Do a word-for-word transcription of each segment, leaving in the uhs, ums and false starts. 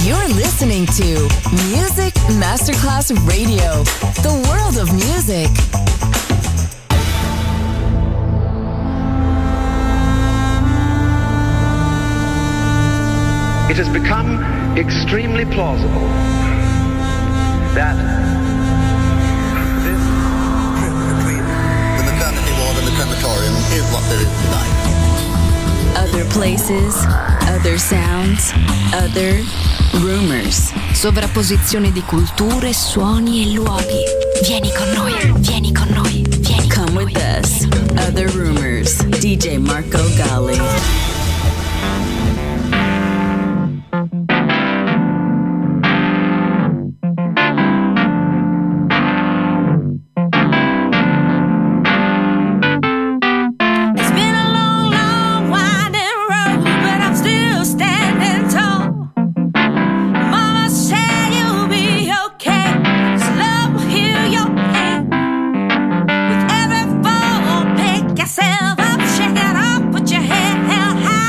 You're listening to Music Masterclass Radio, the world of music. It has become extremely plausible that this trip between the maternity ward and the crematorium is what there is tonight. Other places, other sounds, other rumors. Sovrapposizione di culture, suoni e luoghi. Vieni con noi, vieni con noi, vieni con Come with us. Other rumors. D J Marco Gally. Yourself up, shake it off, put your head held high.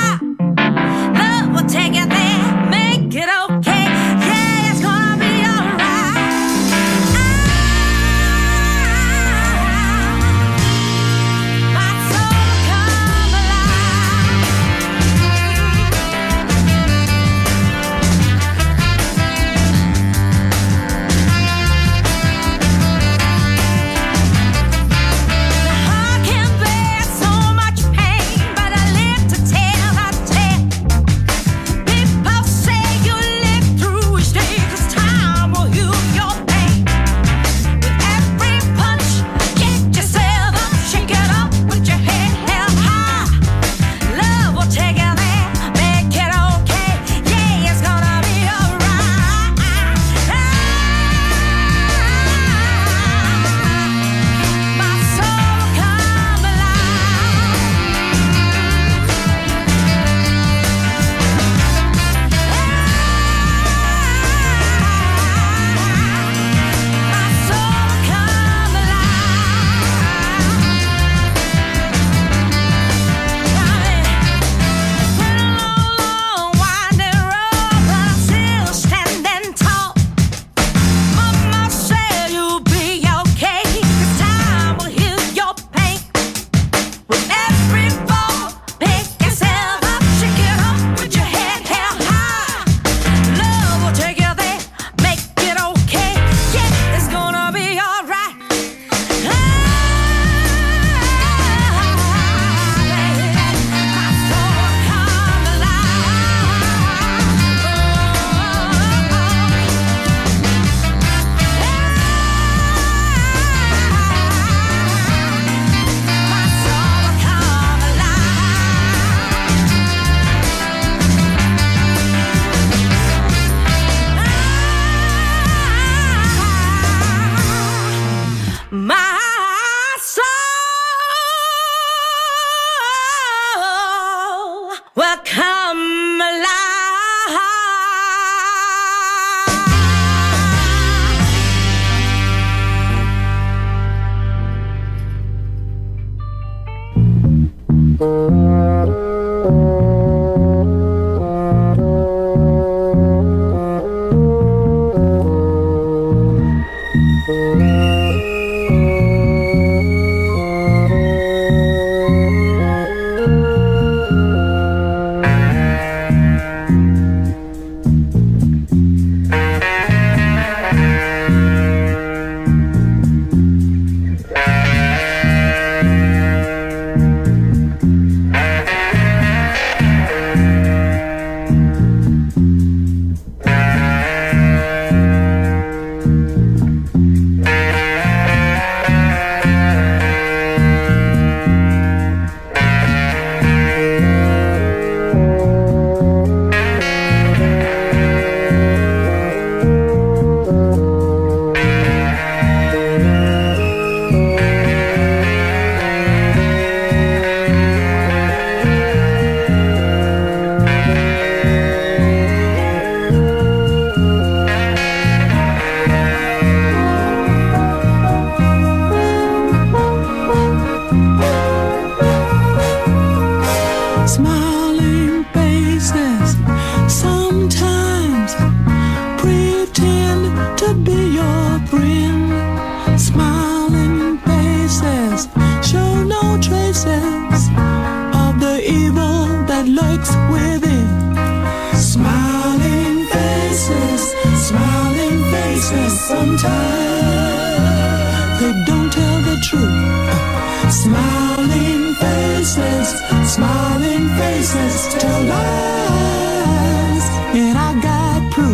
sometimes they don't tell the truth. Smiling faces, smiling faces tell lies, and I got proof.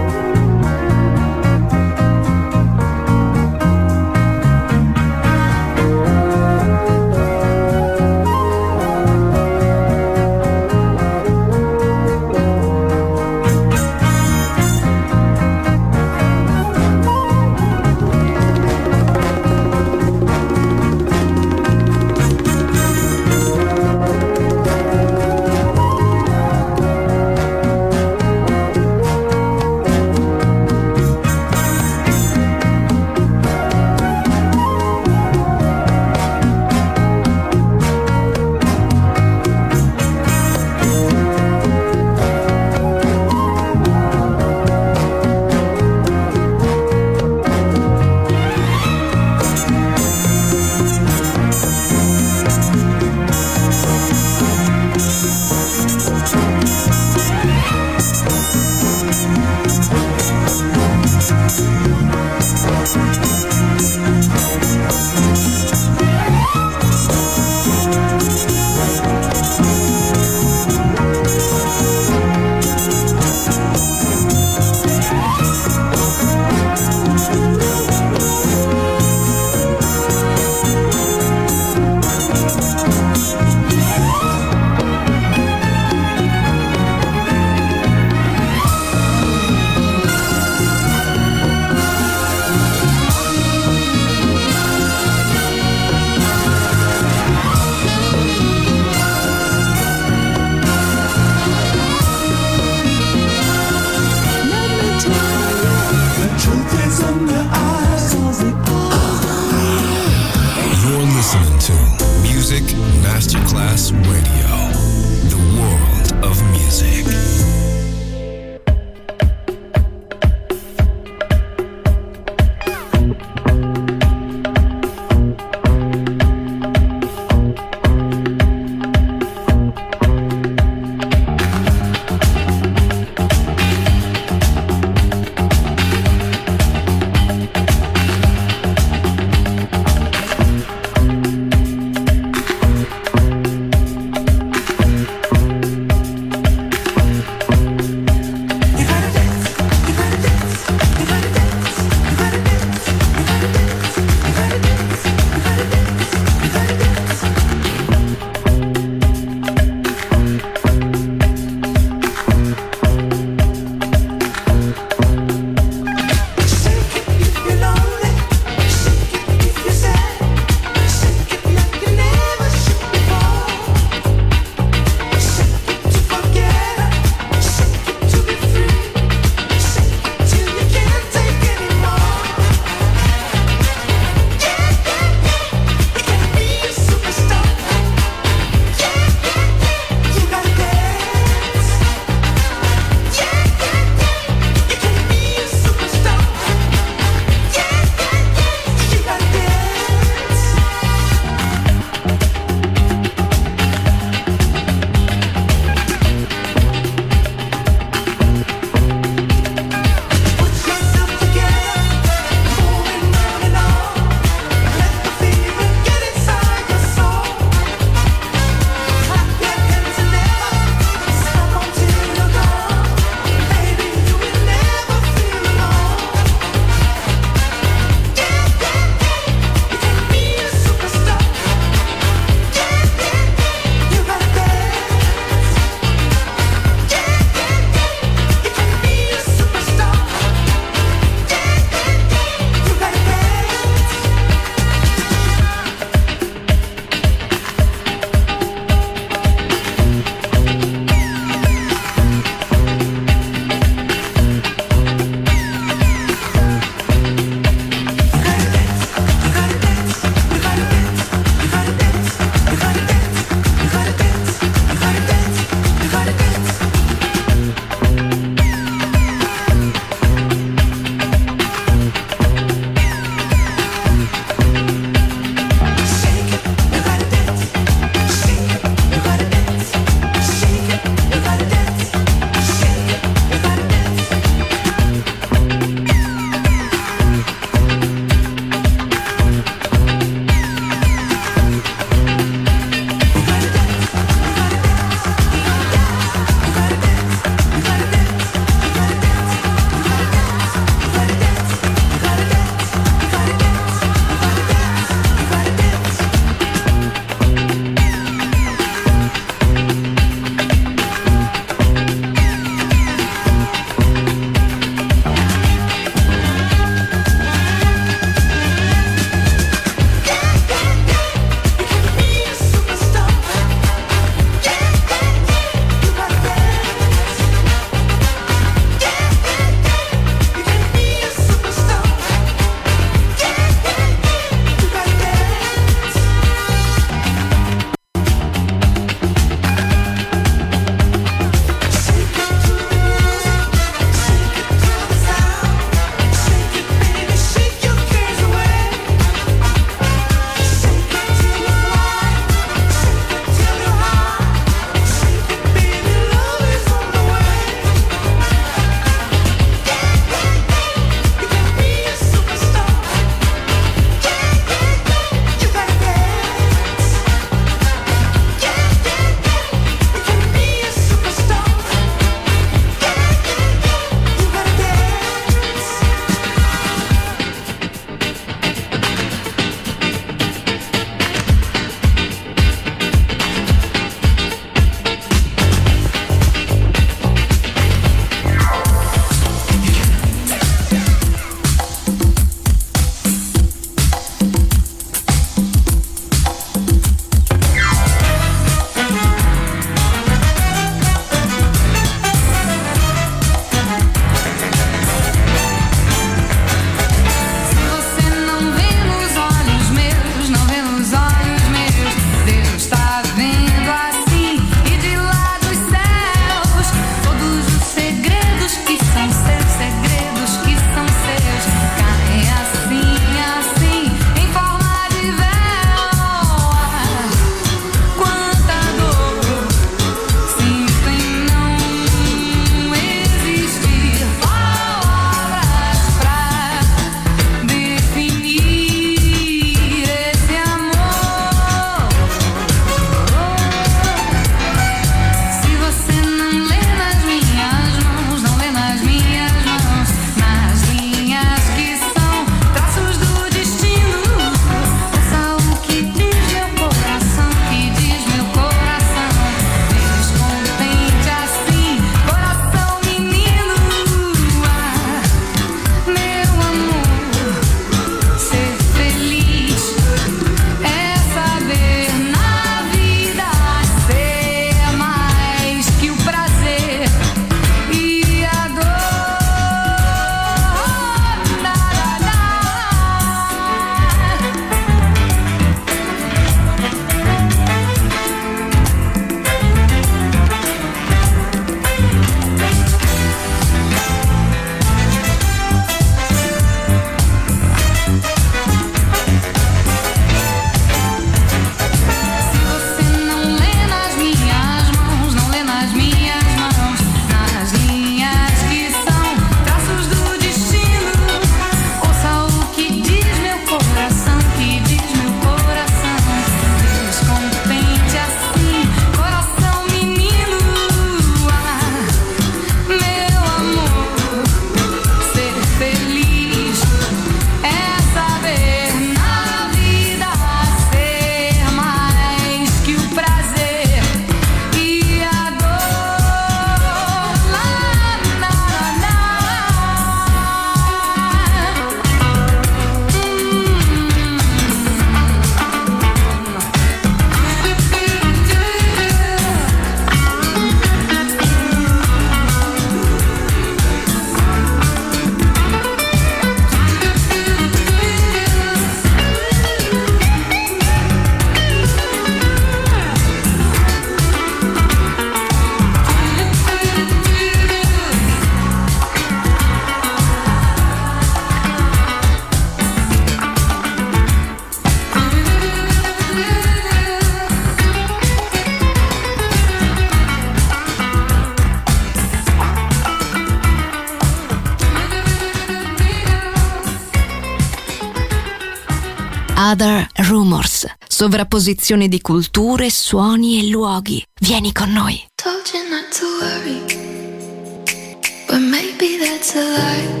Other Rumors, sovrapposizione di culture, suoni e luoghi. Vieni con noi. Told you not to worry, but maybe that's a lie.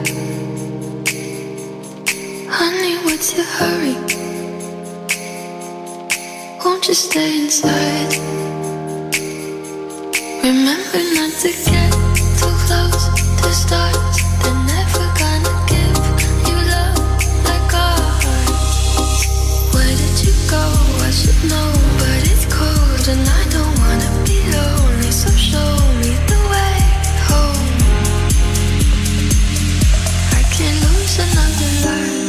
Honey, what's your hurry? Won't you stay inside? Remember not to get too close to stars. They're never gonna give you love like ours. Where did you go? I should know, but it's cold and I don't wanna be lonely. So show me the way home. I can't lose another life.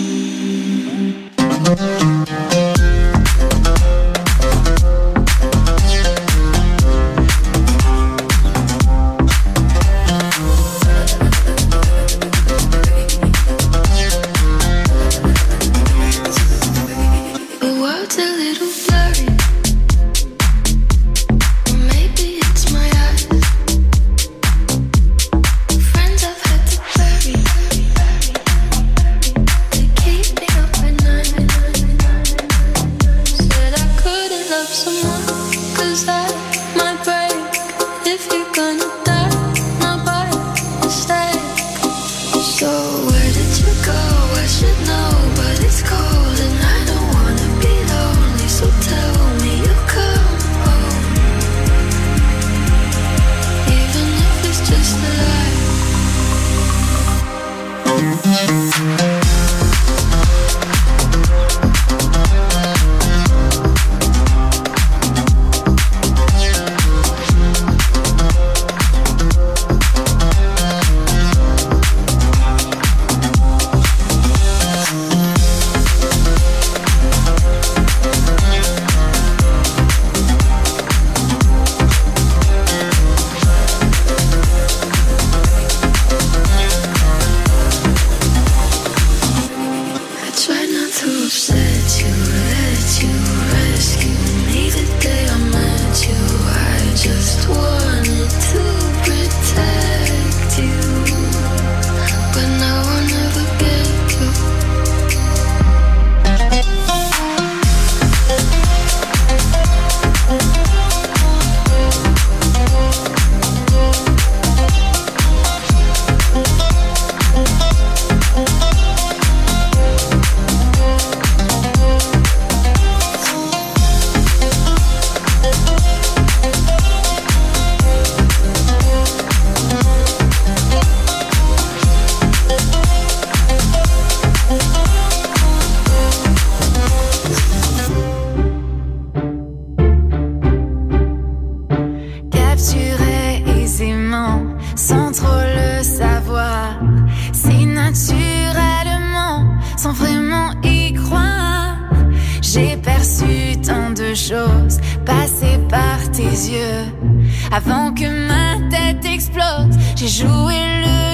Avant que ma tête explose, j'ai joué le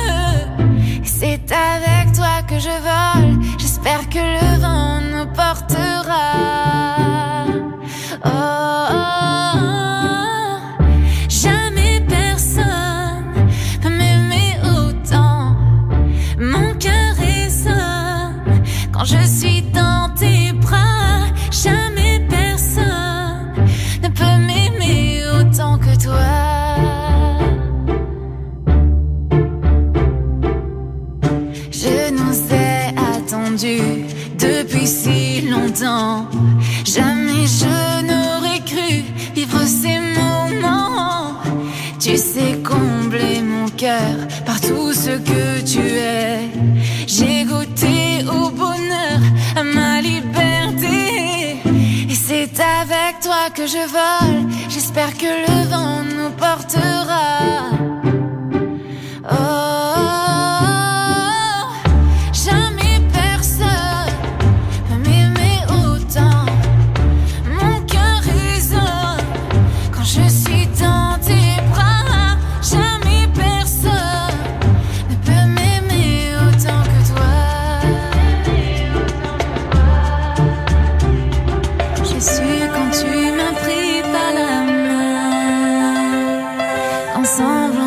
jeu. Et c'est avec toi que je vole. J'espère que le vent nous portera. Oh, oh, oh. Jamais personne peut m'aimer autant. Mon cœur résonne quand je suis dans tes bras. Jamais personne ne peut m'aimer autant que toi. Je nous ai attendus depuis si longtemps. Jamais je n'aurais cru vivre ces moments. Tu sais combler mon cœur par tout ce que tu es. J'ai goûté au bonheur, à ma liberté. Et c'est avec toi que je vole. J'espère que le vent nous portera. Oh, oh, oh. Jamais personne peut m'aimer autant. Mon cœur résonne quand je suis dans tes bras. Jamais personne ne peut m'aimer autant que toi. J'ai su quand tu m'as pris par la main, ensemble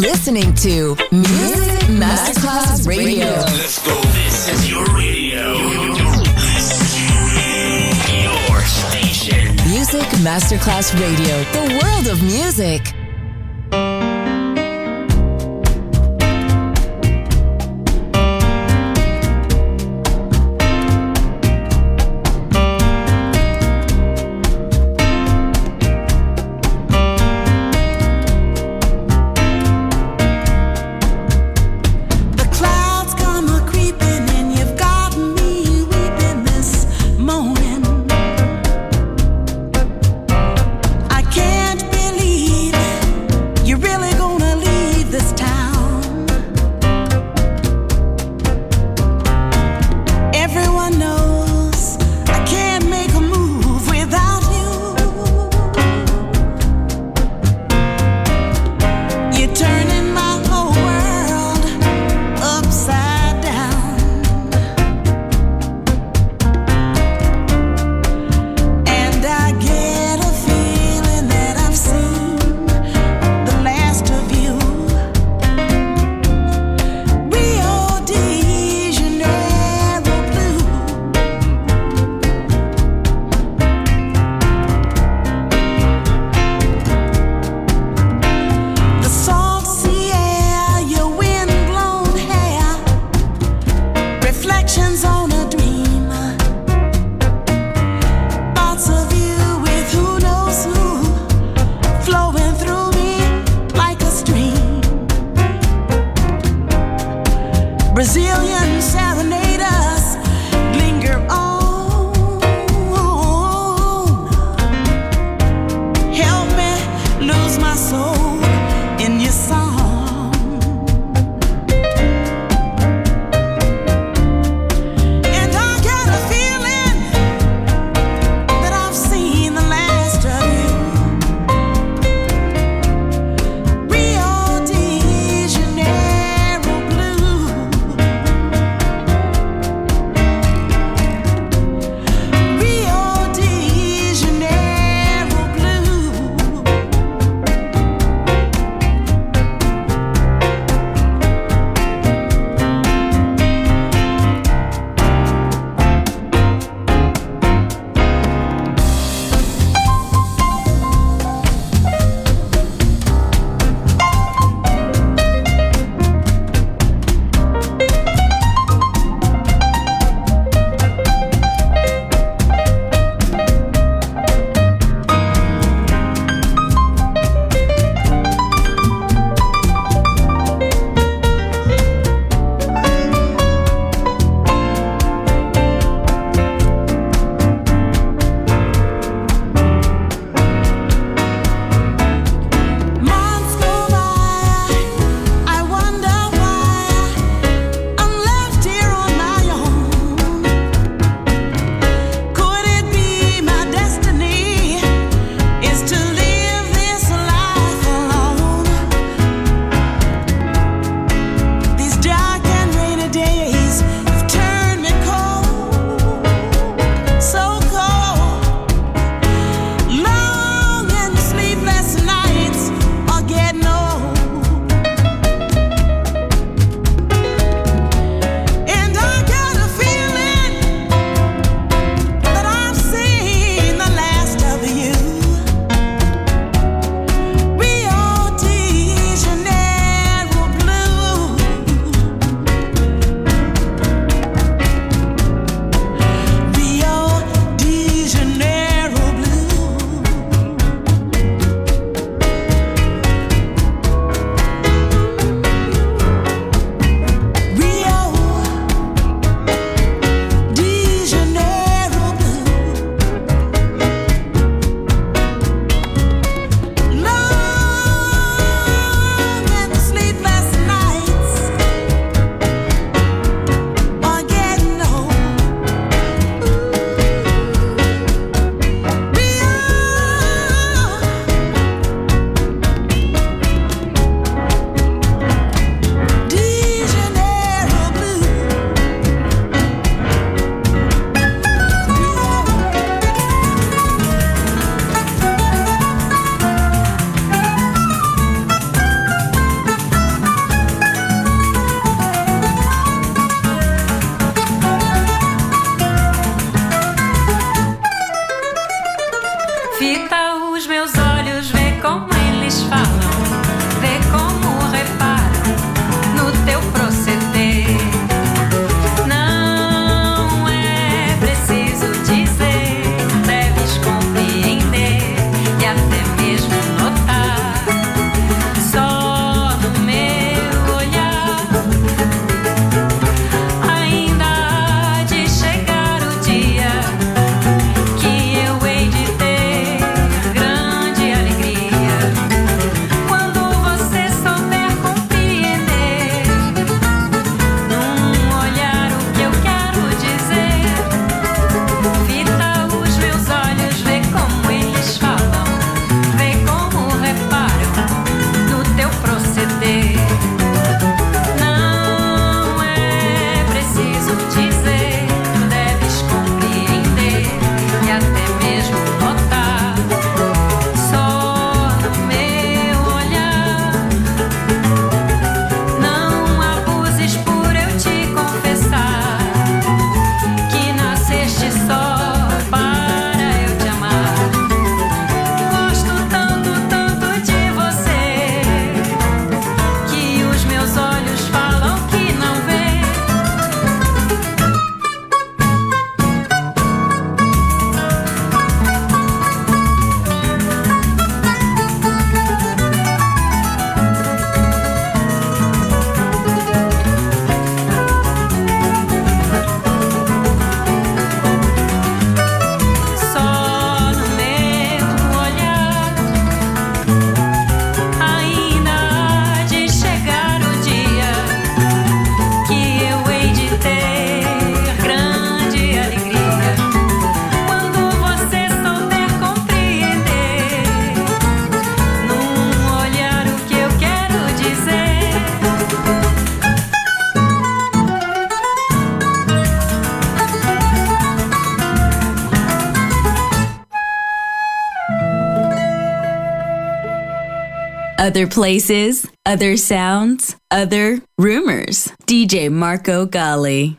listening to Music Masterclass Radio. Let's go. This is your radio. Your station. Music Masterclass Radio. The world of music. Other places, other sounds, other rumors. D J Marco Gally.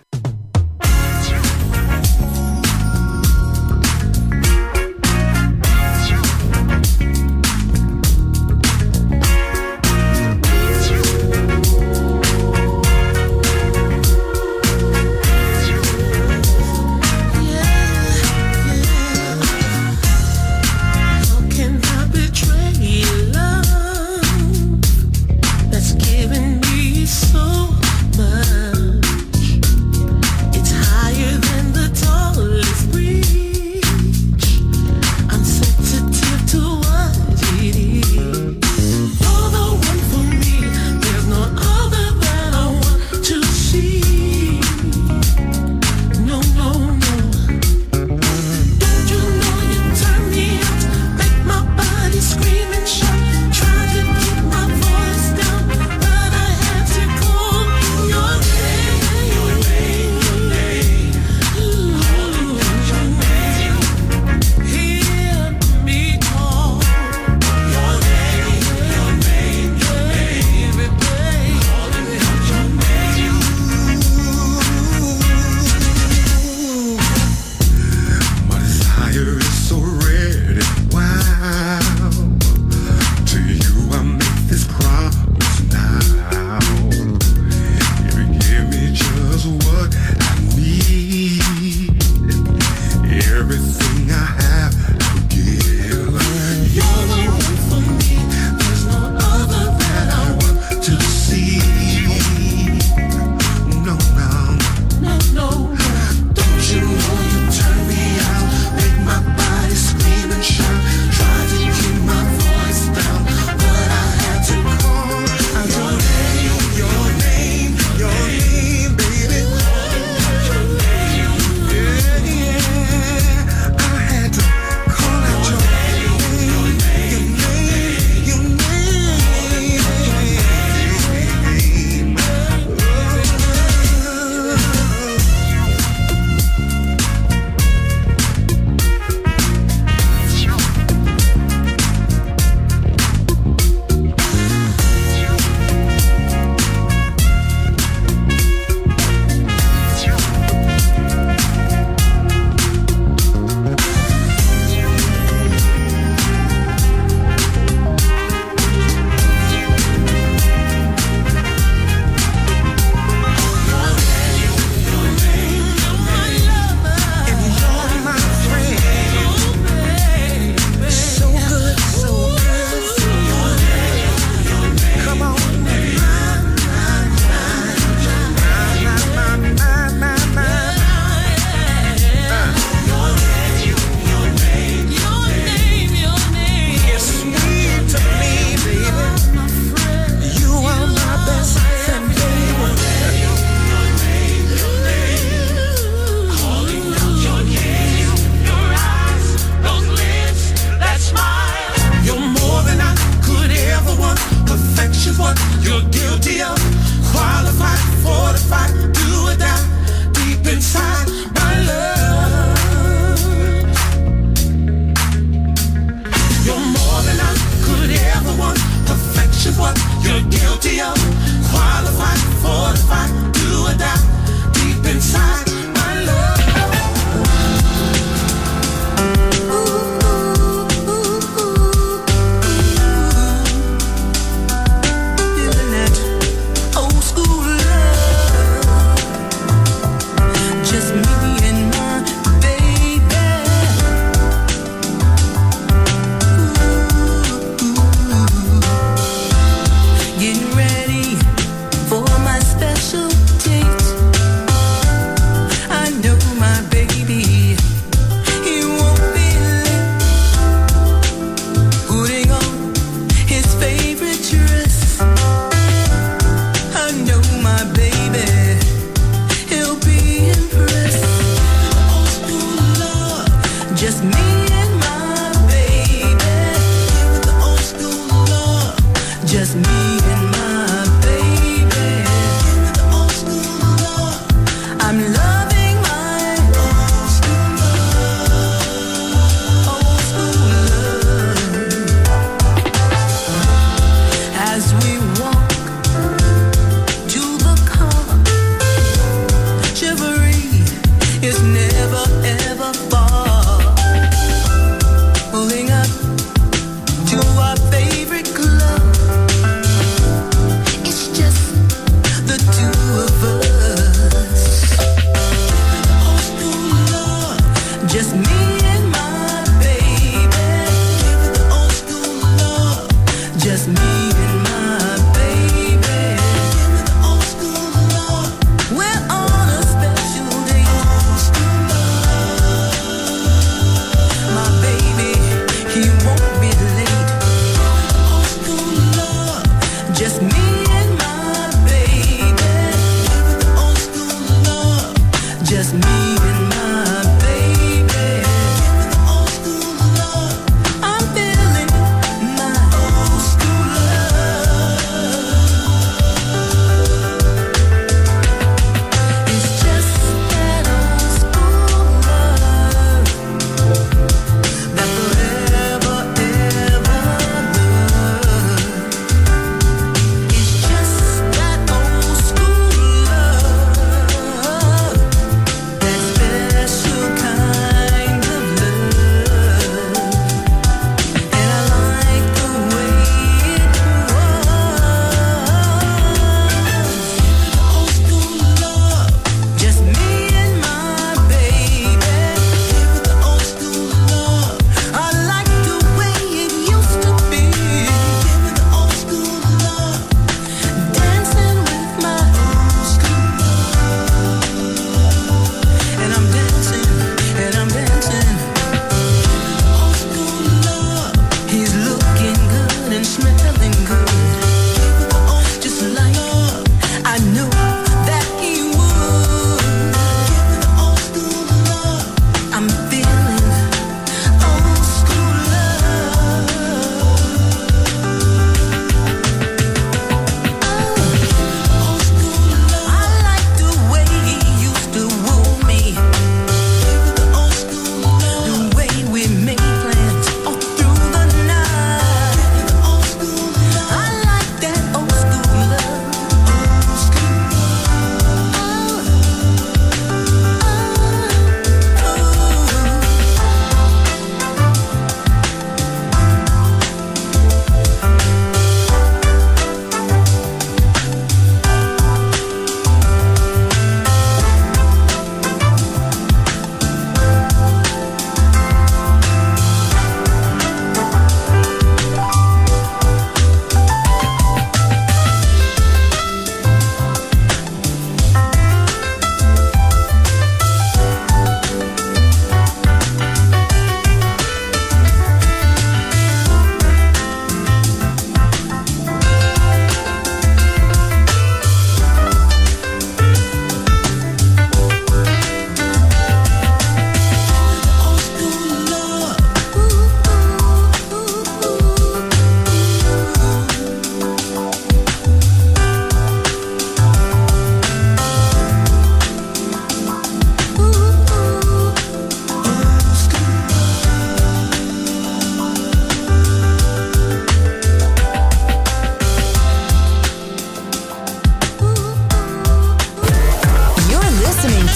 Your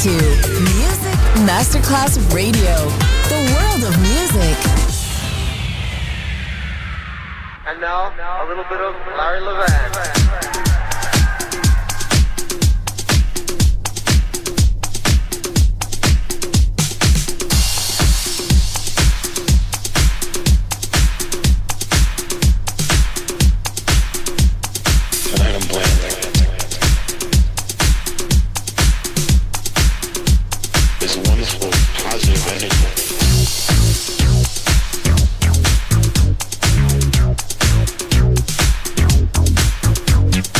to Music Masterclass Radio, the world of music. And now, a little bit of Larry Levan. We'll be right back.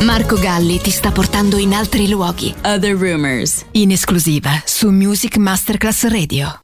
Marco Galli ti sta portando in altri luoghi. Other Rumors, In esclusiva su Music Masterclass Radio.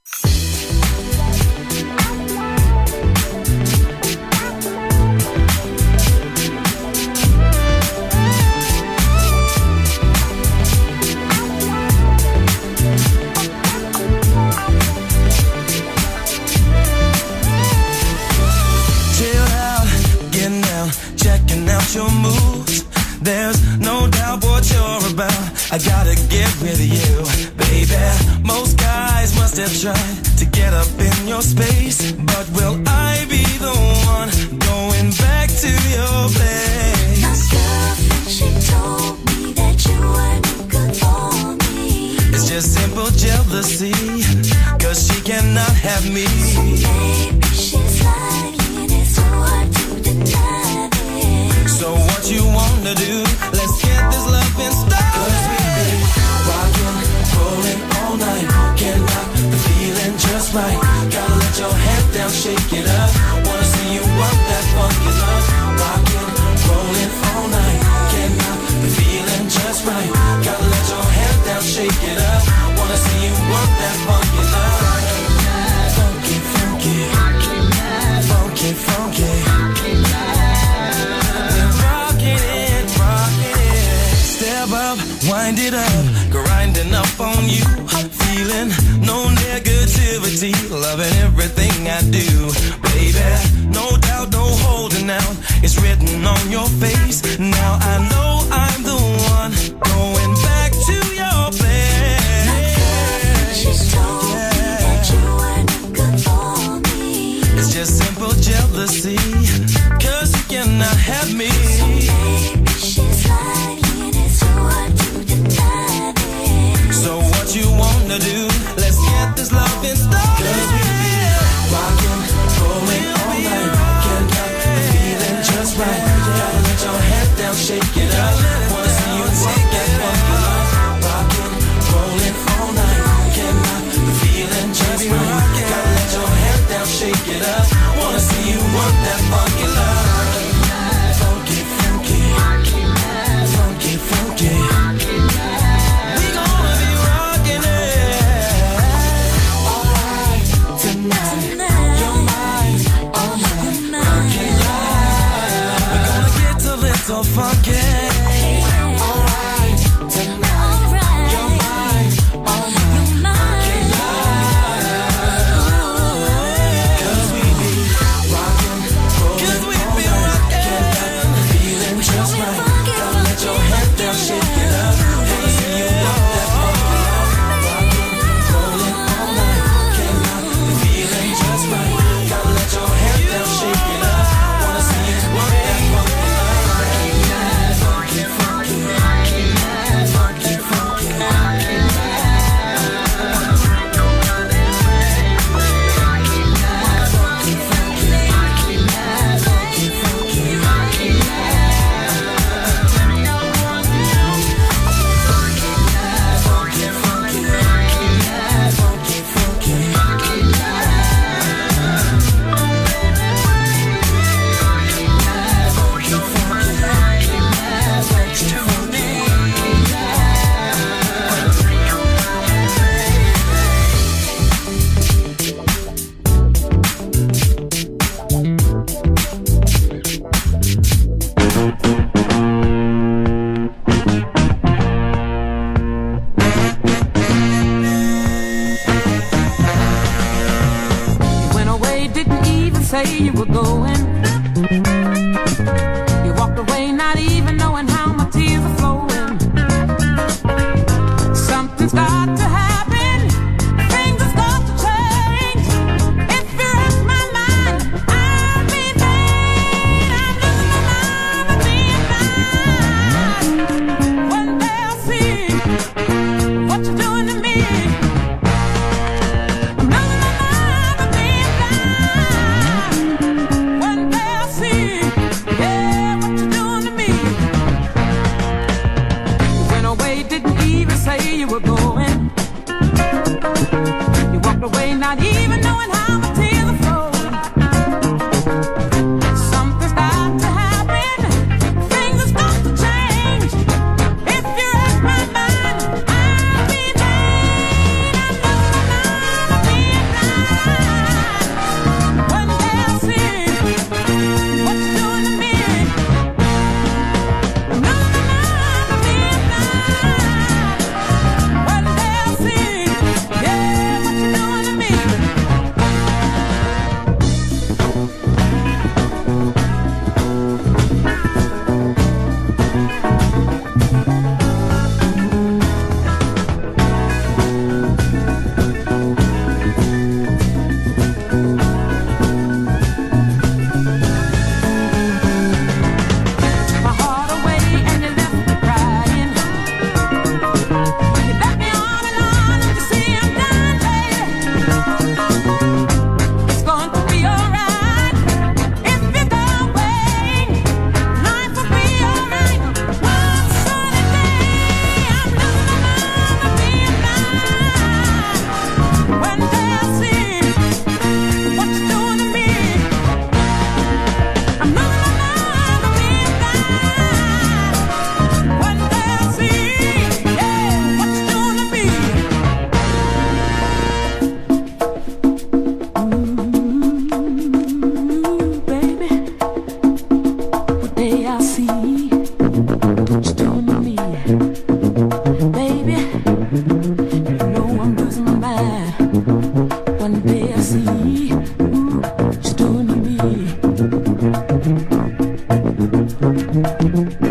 Your moves, there's no doubt what you're about. I gotta get with you, baby. Most guys must have tried to get up in your space, but will I be the one going back to your place? My girlfriend, she told me that you weren't good for me. It's just simple jealousy, cause she cannot have me. So maybe she's lying and it's so hard to deny. So what you wanna do? Let's get this love in style. Cause we've been rocking, rolling all night. Can't knock the feeling just right. Gotta let your head down, shake it up. Wanna see you work that funky love. Rocking, rolling all night. Can't knock the feeling just right. Gotta let your head down, shake it up. Wanna see you work that funky love. Funky, funky, funky, funky. Wind it up, grinding up on you. Feeling no negativity, loving everything I do. Baby, no doubt, no holding out. It's written on your face. Now I know I'm the one going back to your place. My girlfriend, she's told yeah. me that you weren't good for me. It's just simple jealousy, cause you cannot have me. So maybe she's lying and it's so hard to deny it. So what you wanna do? Let's get this love in style. Cause we be rockin', rolling all night. Can't knock the feeling just right. Gotta let your head down, shake it up. Wanna see you work that funky love. Rockin', rolling all night. Can't knock the feeling just right. Gotta let your head down, shake it up. Wanna see you work that funky love. Funky, funky, funky, funky. We gonna be rockin' it. Alright, tonight, you're mine, all mine, funky life. We're gonna get a little funky. Alright, tonight, you're mine, all mine, funky life. Cause we be rockin', rollin' all night. Can't stop the feeling just right. Gotta let your head down, shake it up. Wanna see you work that funky love. Rockin', rollin' all night. Can't stop the feeling just right. Gotta let your head down, shake it up. Wanna see you work that funky love.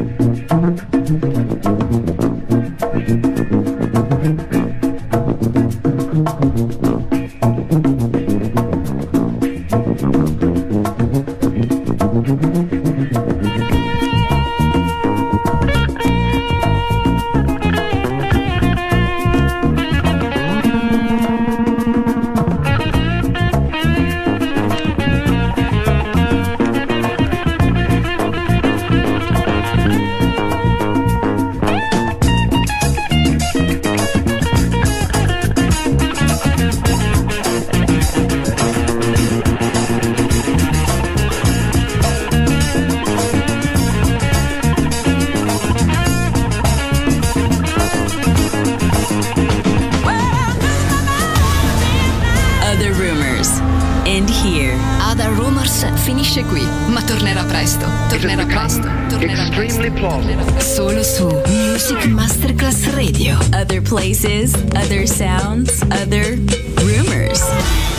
Finisce qui, ma tornerà presto. Tornerà presto. Tornerà presto. Tornerà solo su Music Masterclass Radio. Other places, other sounds, other rumors.